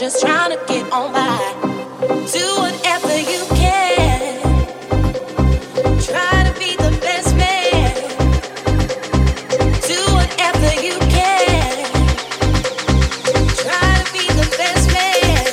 just trying to get on by. Do whatever you can. Try to be the best man. Do whatever you can. Try to be the best man.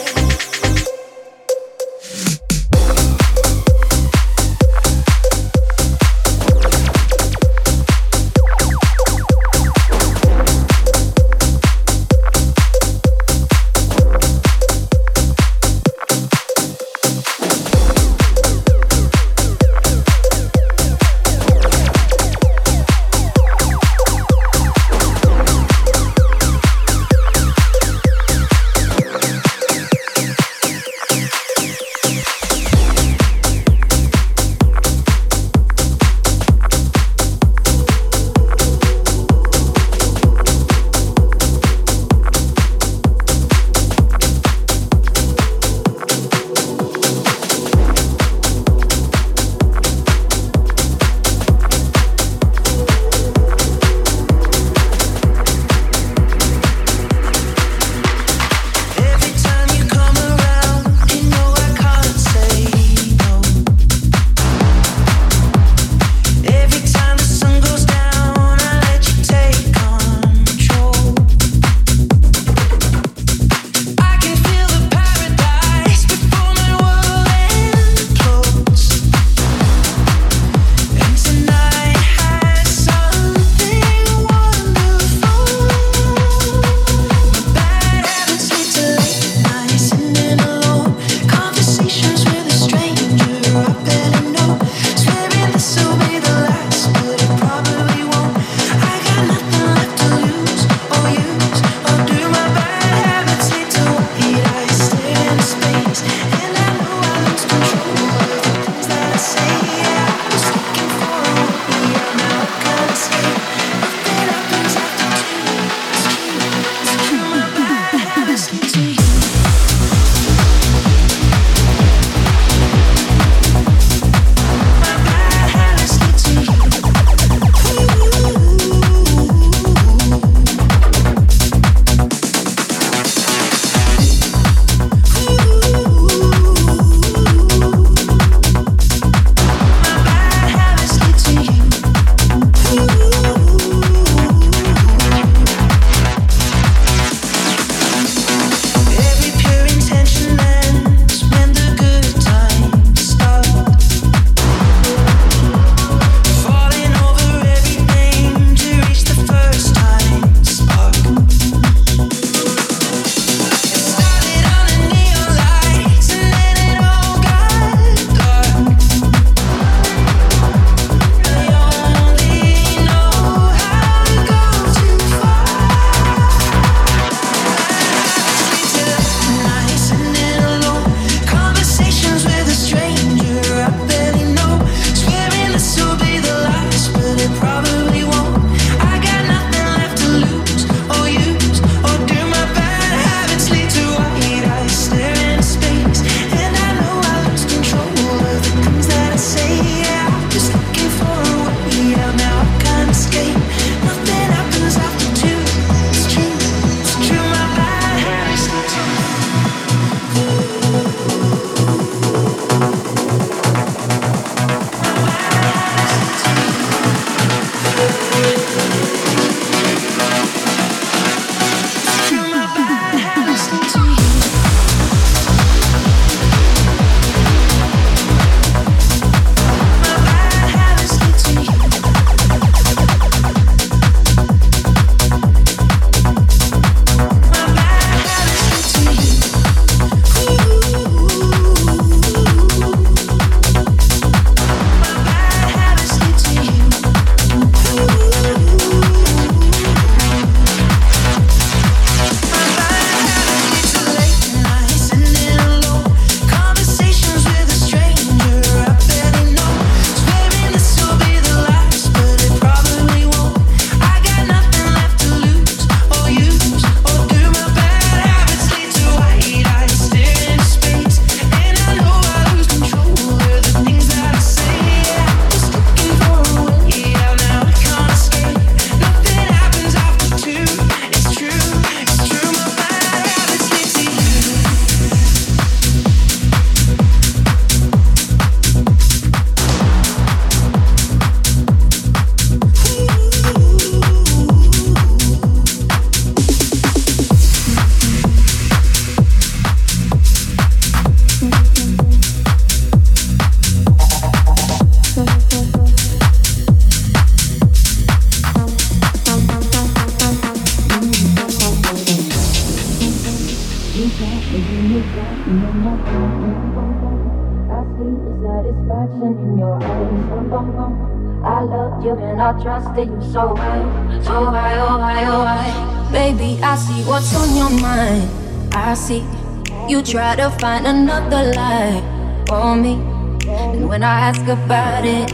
I see the satisfaction in your eyes. I loved you and I trusted you so well. So why, oh why, oh why? Baby, I see what's on your mind. I see you try to find another lie for me. And when I ask about it,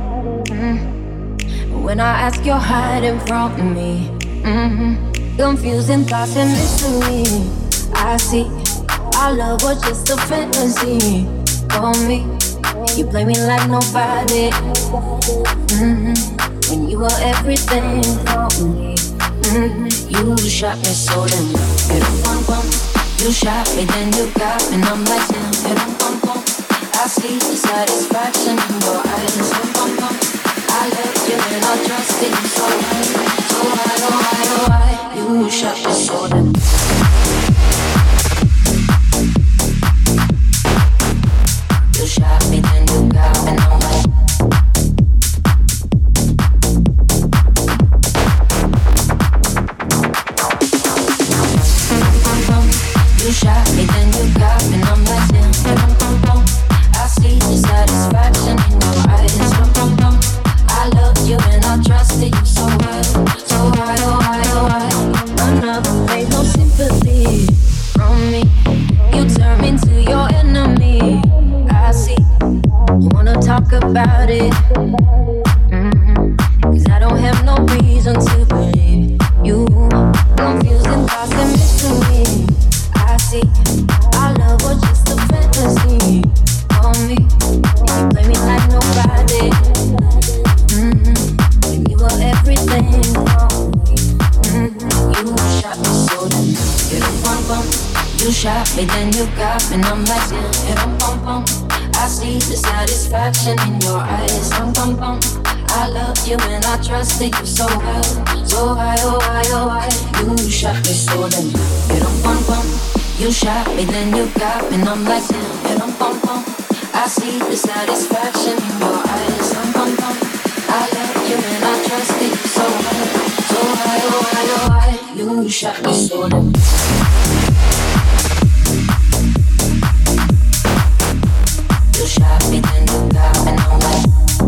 when I ask, you're hiding from me. Confusing thoughts and mystery. I see our love was just a fantasy for me. You play me like nobody. When you were everything for me. You shot me so damn good. You shot me, then you got me, and I'm like damn. I see the satisfaction in your eyes. I left you and I trusted you so well. So why, oh why, oh why? You shot me so damn. You shot me, then you got me, and I'm like. You shot me, then you got me, and I'm like damn. I see the satisfaction in your eyes. I loved you and I trusted you so well. So why, oh why, oh why? Another ain't no sympathy from me. You turn me into your enemy. I see you wanna talk about it. Cause I don't have no reason to believe you. Confusing thoughts and mystery. I see our love was just a fantasy for me. You play me like nobody. And you were everything for me. You shot me so damn. You shot me, then you got me, and I'm like damn. I see the satisfaction in your eyes. I loved you and I trusted you so well. So why, oh why, oh why? You shot me so damn. You shot me, then you got me, and I'm like damn. I see the satisfaction in your eyes. I loved you and I trusted you so well. So why, oh why, oh why? You shot me so damn. You shot me, then you got me, and I'm like.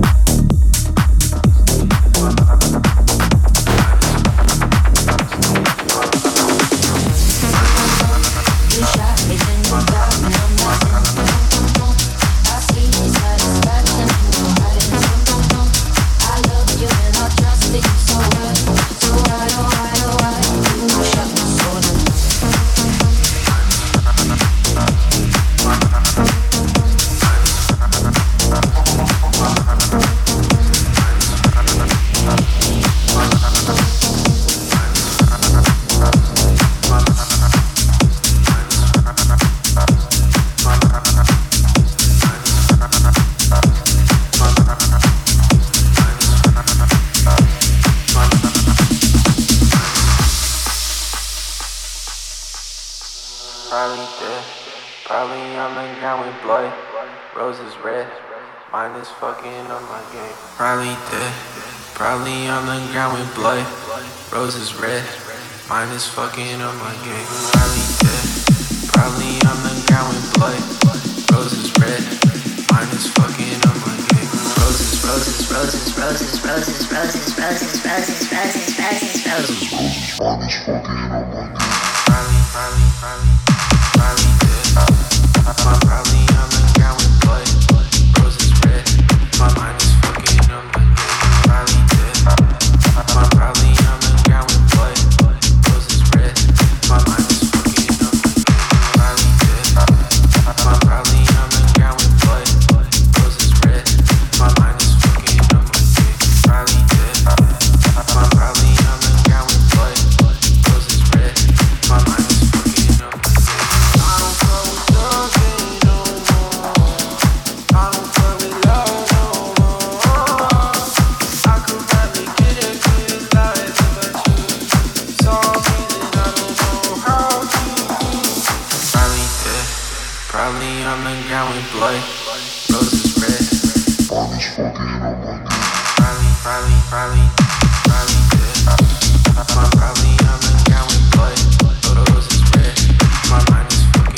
Probably on the ground with blood, roses red. Mine is fucking on my game. Probably dead. Probably on the ground with blood, roses red. Mine is fucking on my game. Roses, roses, roses, roses, roses, roses, roses, roses, roses, roses, roses. Mine is fucking on my game. Probably dead. I'm probably on the ground with blood, roses red. My mind is fucking on my game. Probably dead. I'm probably on the ground with blood, roses red. My mind is fucking on my game. Probably dead. I'm probably on the ground with blood, roses red. My mind is fucking on my game. Probably dead. I'm probably on the ground with blood, roses red. My mind is fucking on my game. I don't fuck with thugs no more. I don't fuck with love no more. I could probably get a good life if I choose. Some reason I don't know how to. Probably dead. Probably on the ground with blood, roses red. Body's fucking on my game. Probably dead. I'm probably on the ground with blood, roses red. My mind is fucking.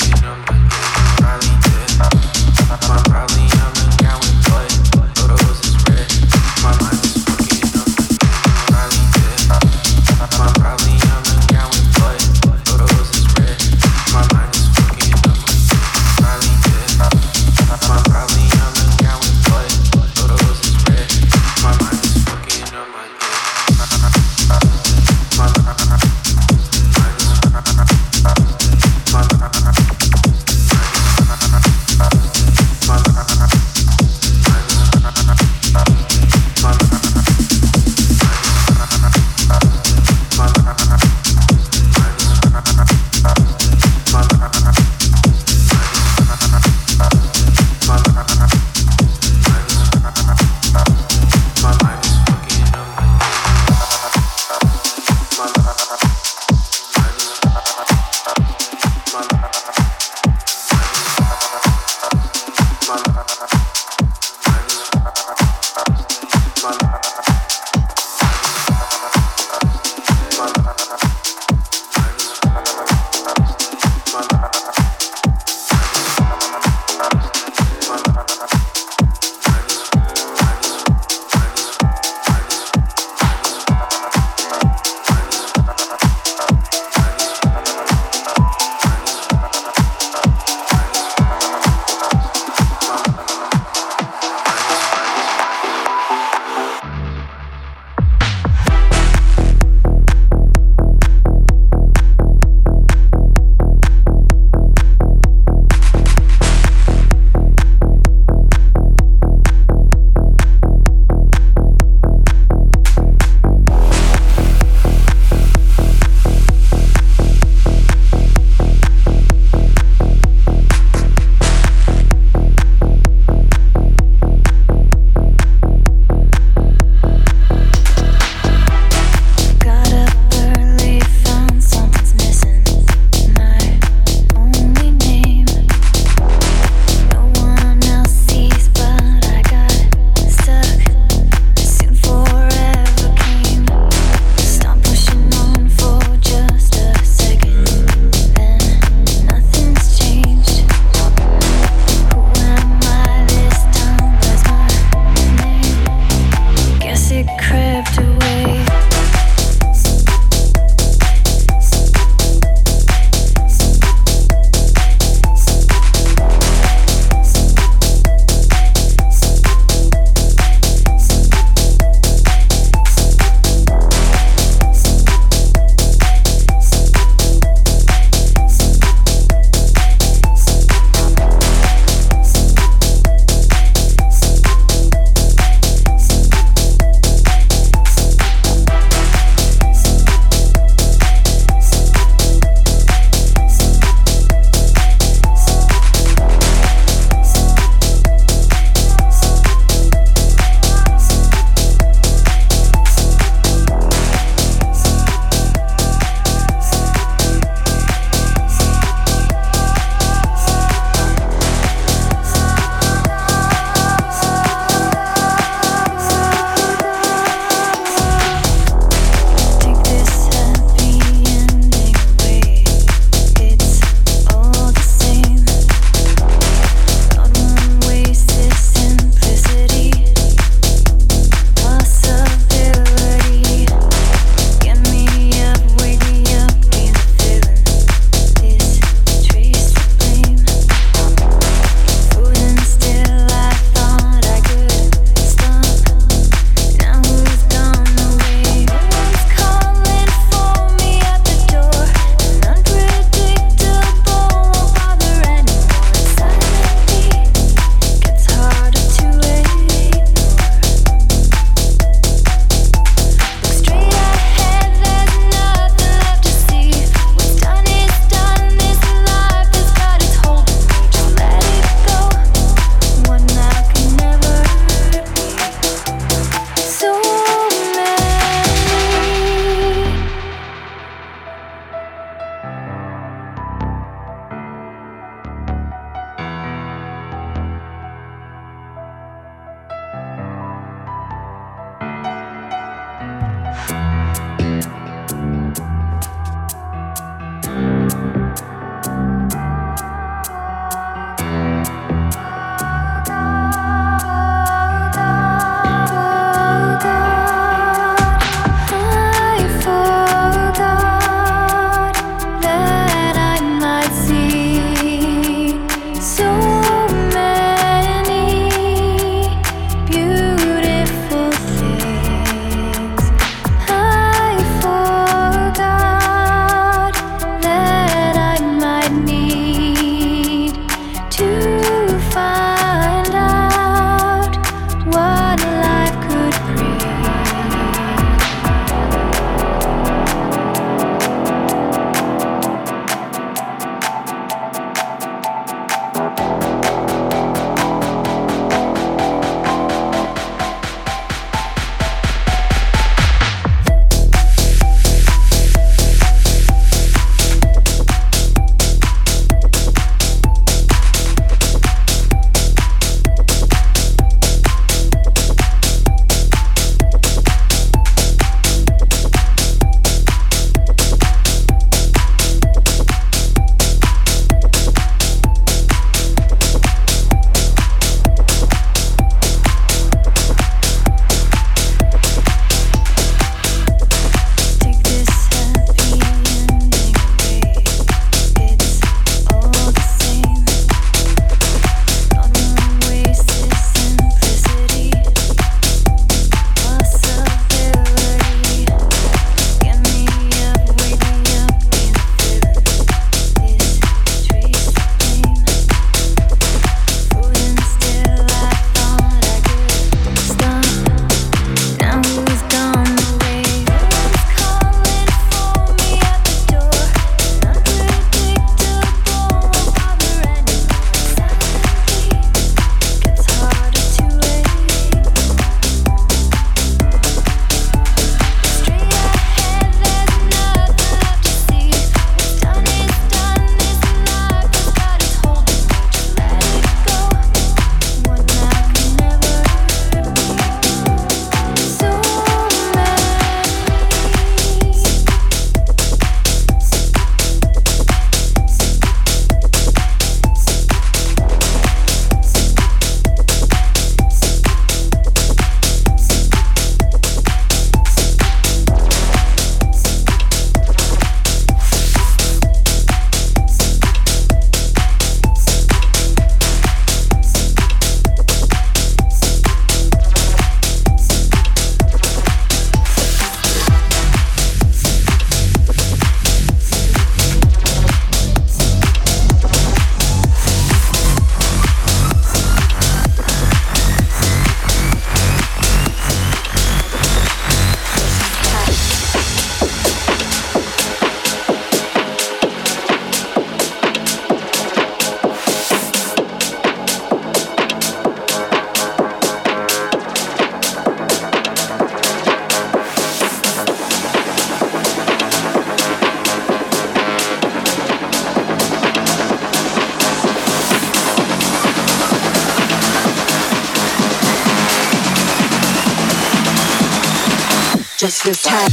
Just this time.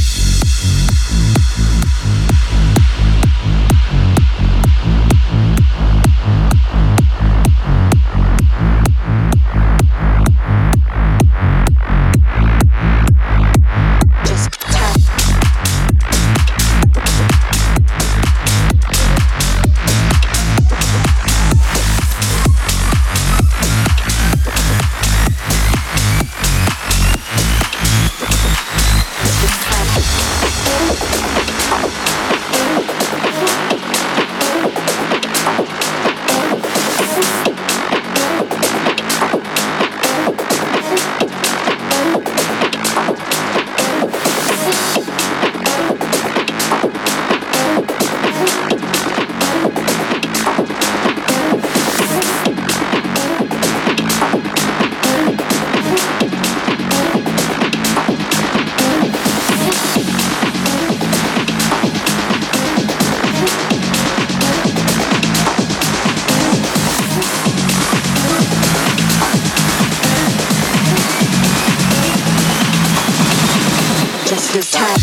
This time.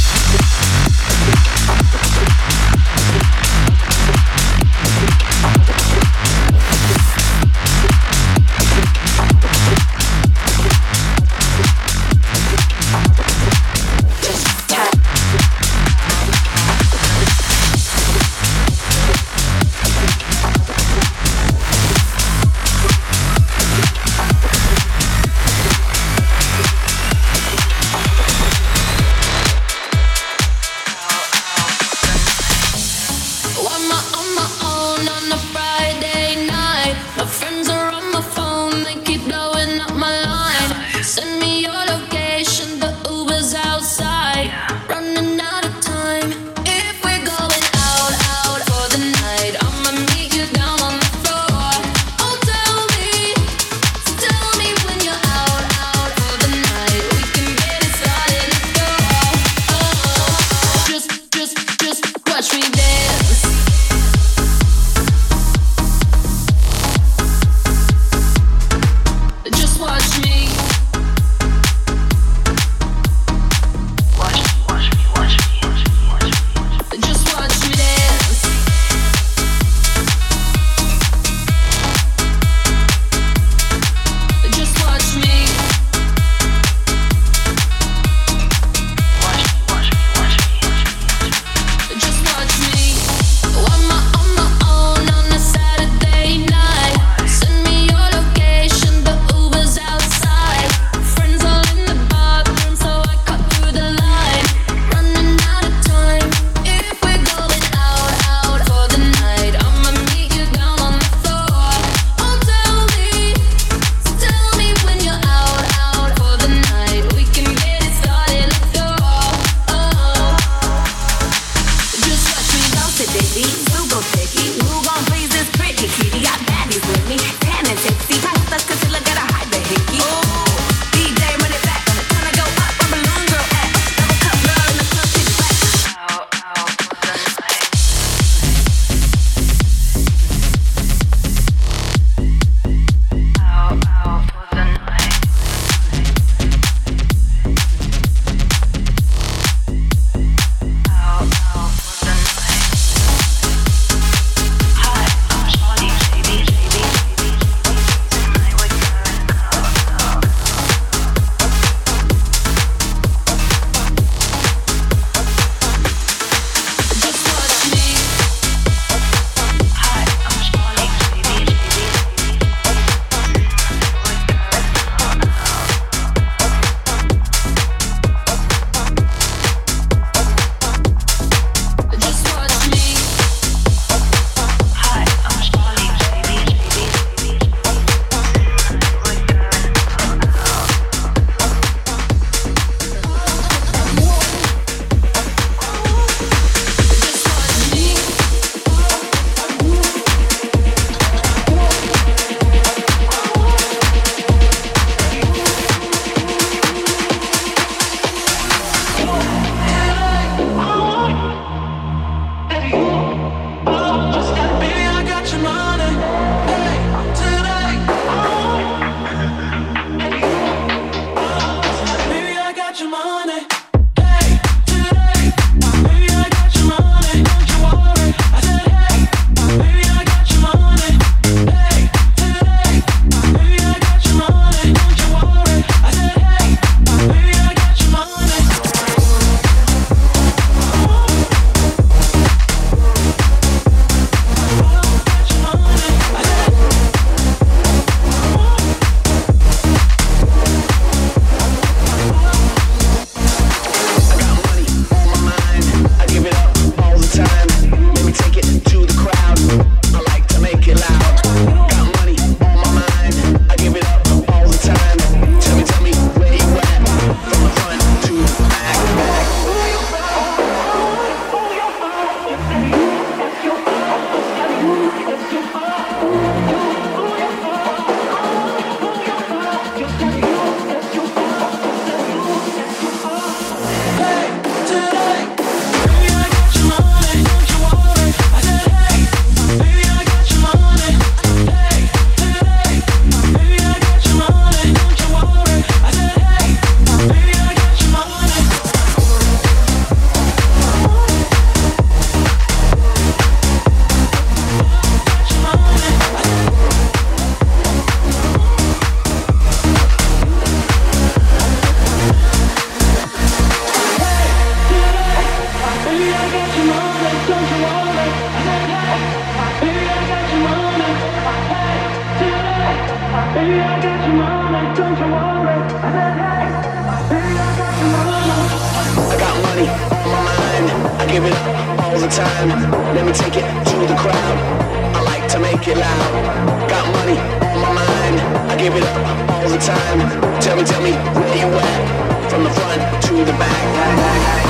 give it up all the time. Let me take it to the crowd. I like to make it loud. Got money on my mind. I give it up all the time. Tell me where you at? From the front to the back.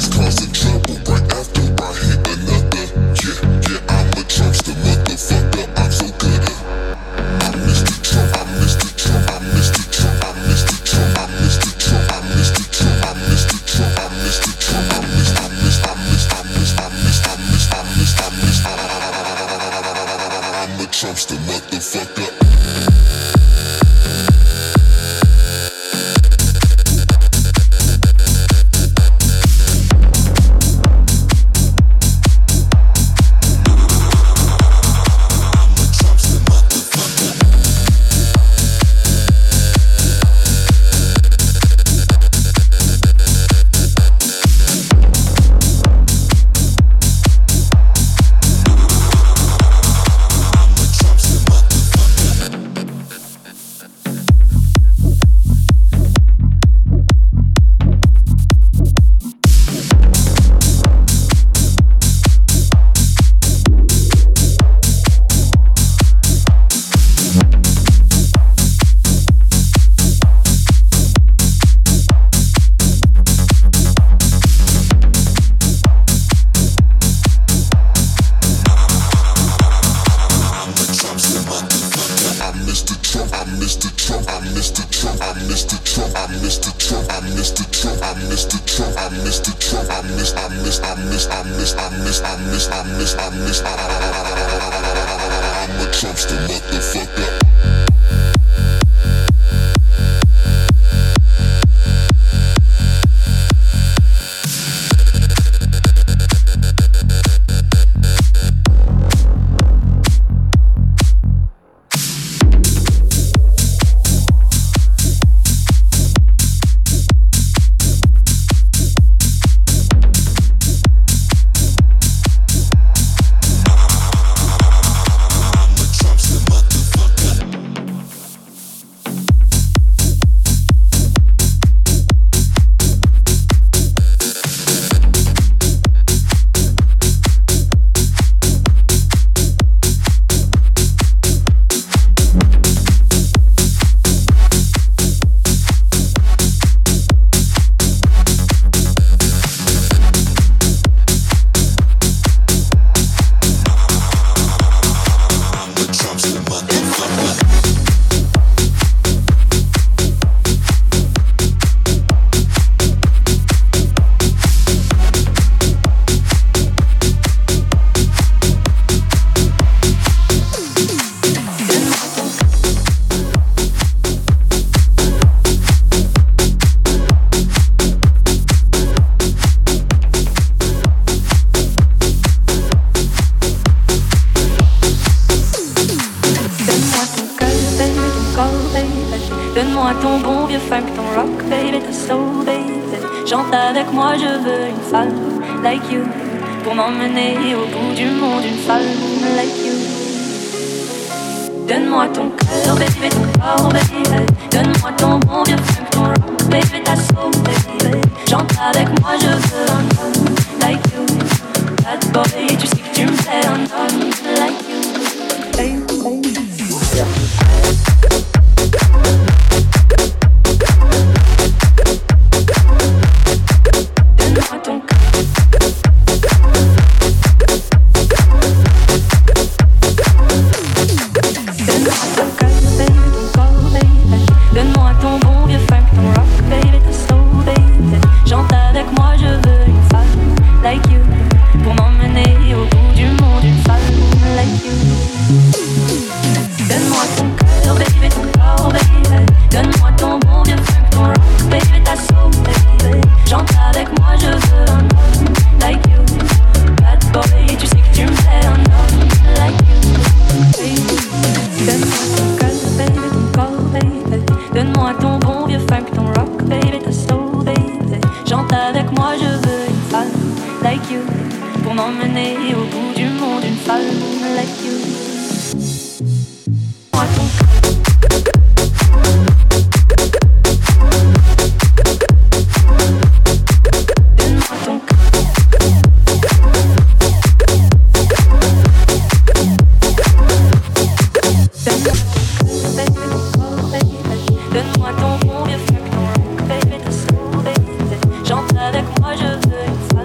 Donne-moi ton bon vieux funk, ton rock, baby, t'as sauvé. Chante avec moi, je veux une femme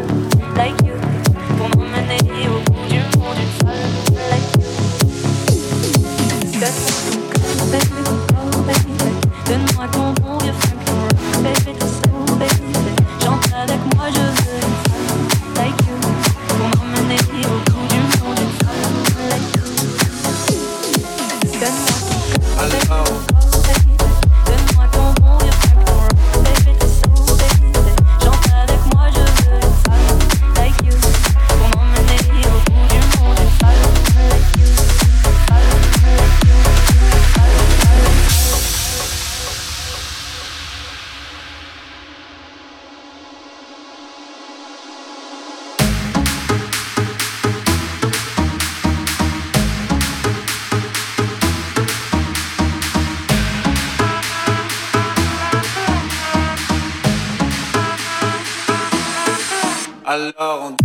Alors on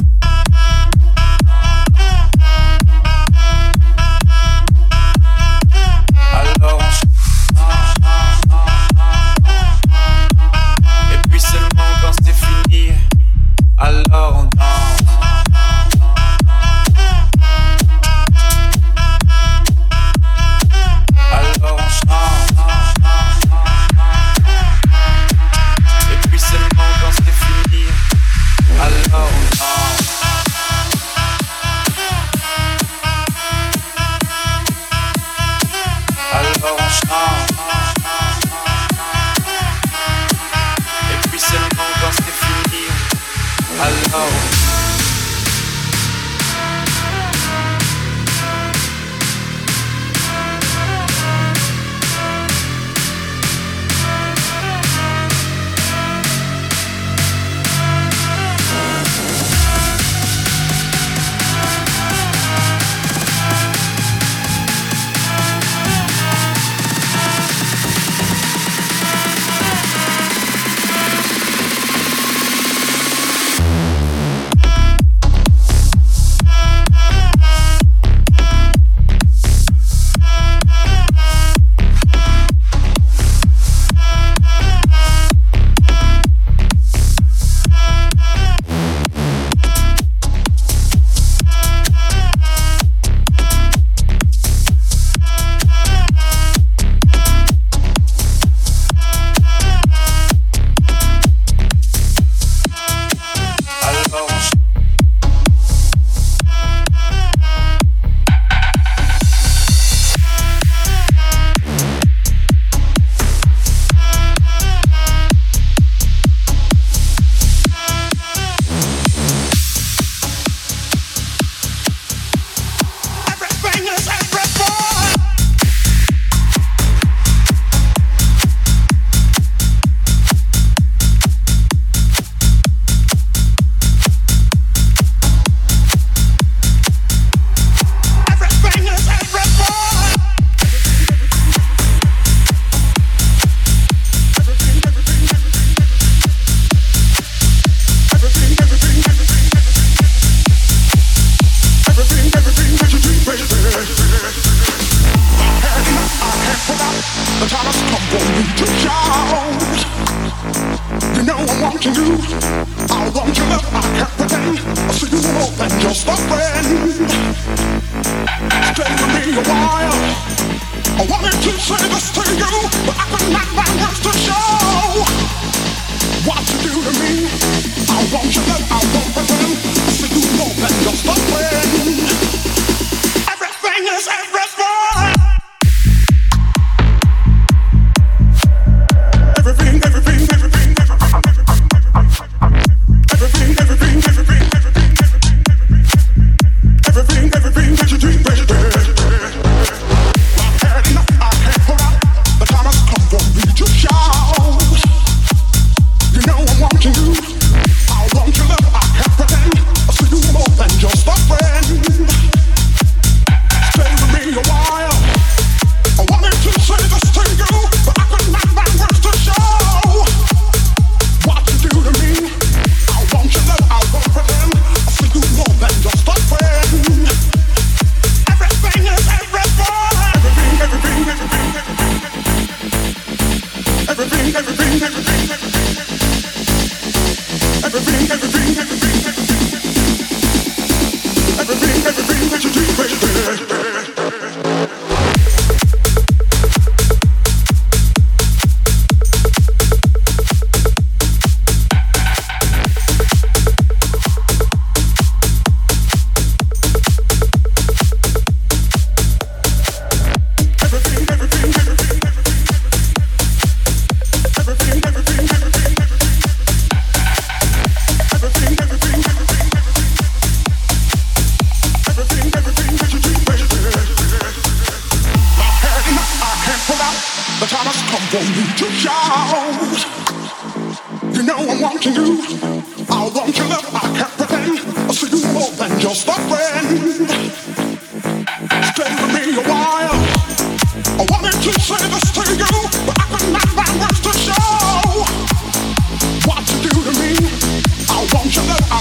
et puis seulement quand c'est fini, alors on danse. Alors on chante. Et puis seulement quand c'est fini, alors on danse. Alors on chante. Et puis seulement quand c'est fini, alors What you do to me, I want you to know.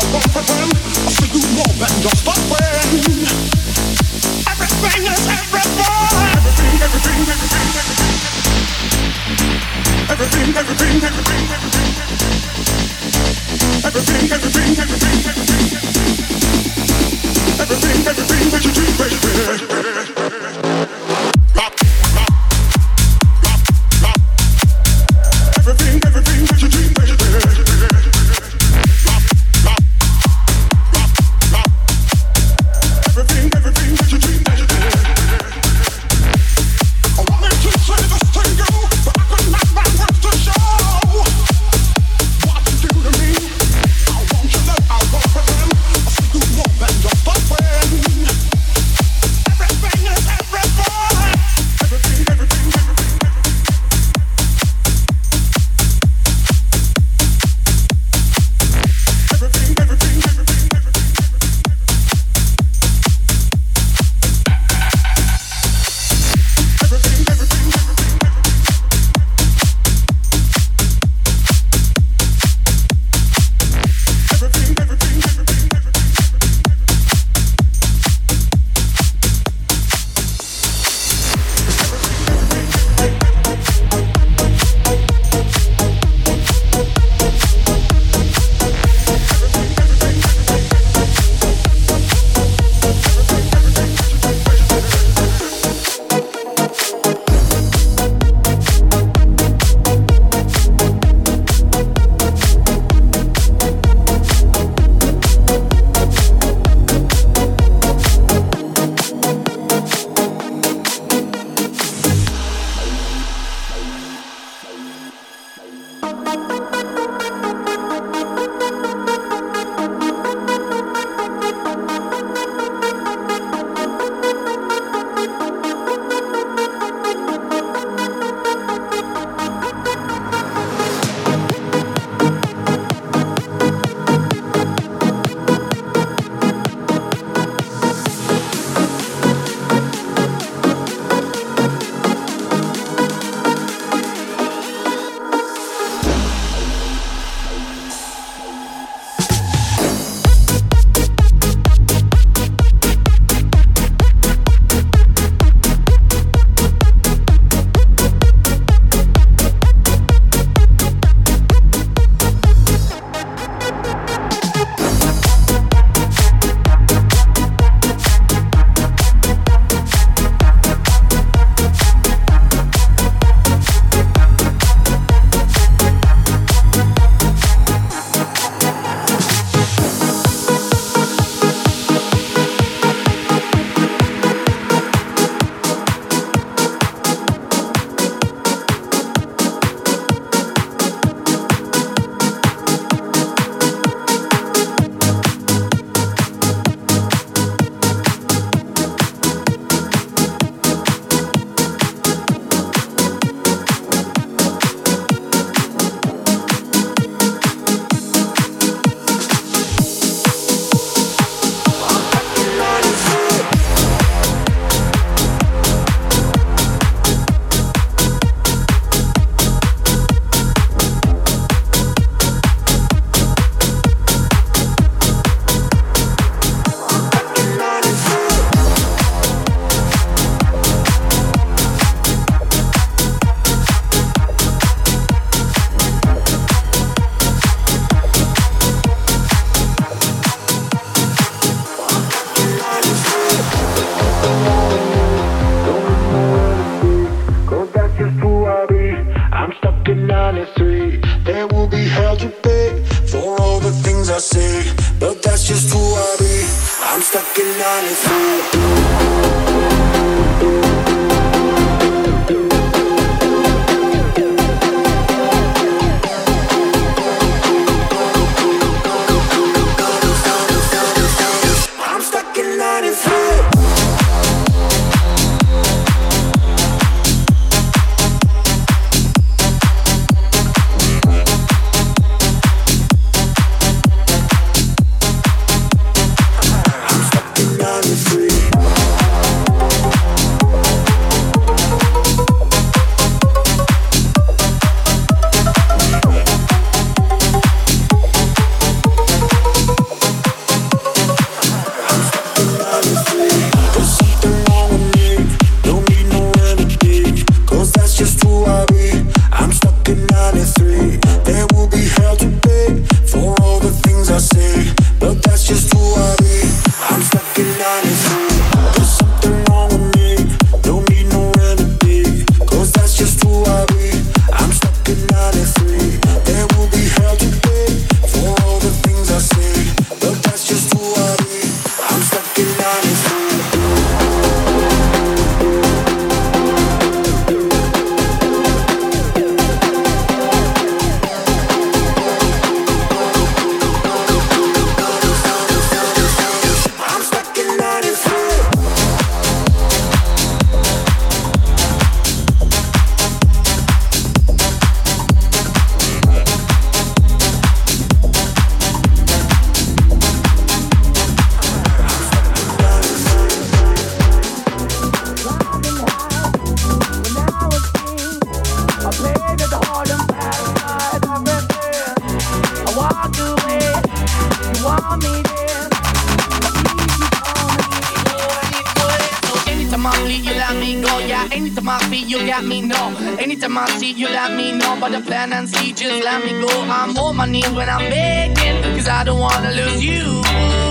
Anytime I feel you got me, no. Anytime I see you, let me know. But the plan and see, just let me go. I'm on my knees when I'm begging, cause I don't wanna lose you.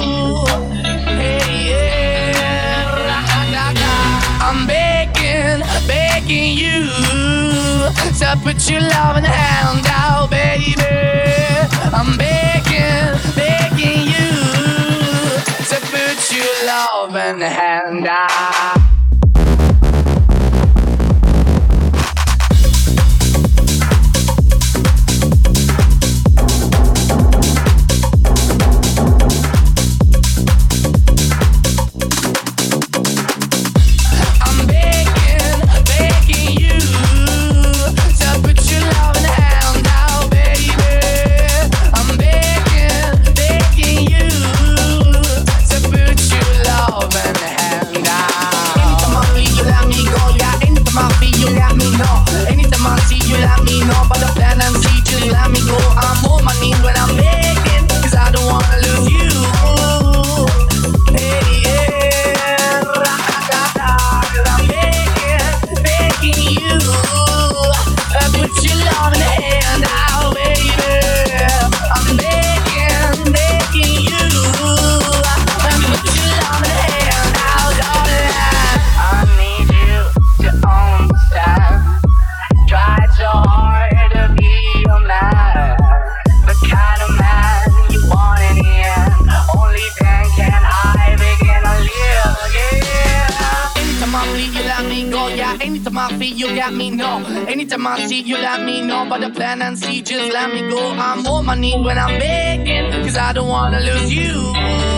Hey, yeah. I'm begging, begging you to put your love in the hand out, baby. I'm begging, begging you to put your love in the hand out. Anytime I see you, let me know. But the plan and see, just let me go. I'm on my knees when I'm begging, cause I don't wanna lose you.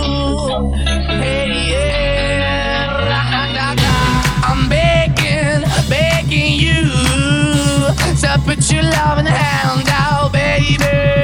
Hey, yeah. I'm begging, begging you to put your love in the hand out, baby.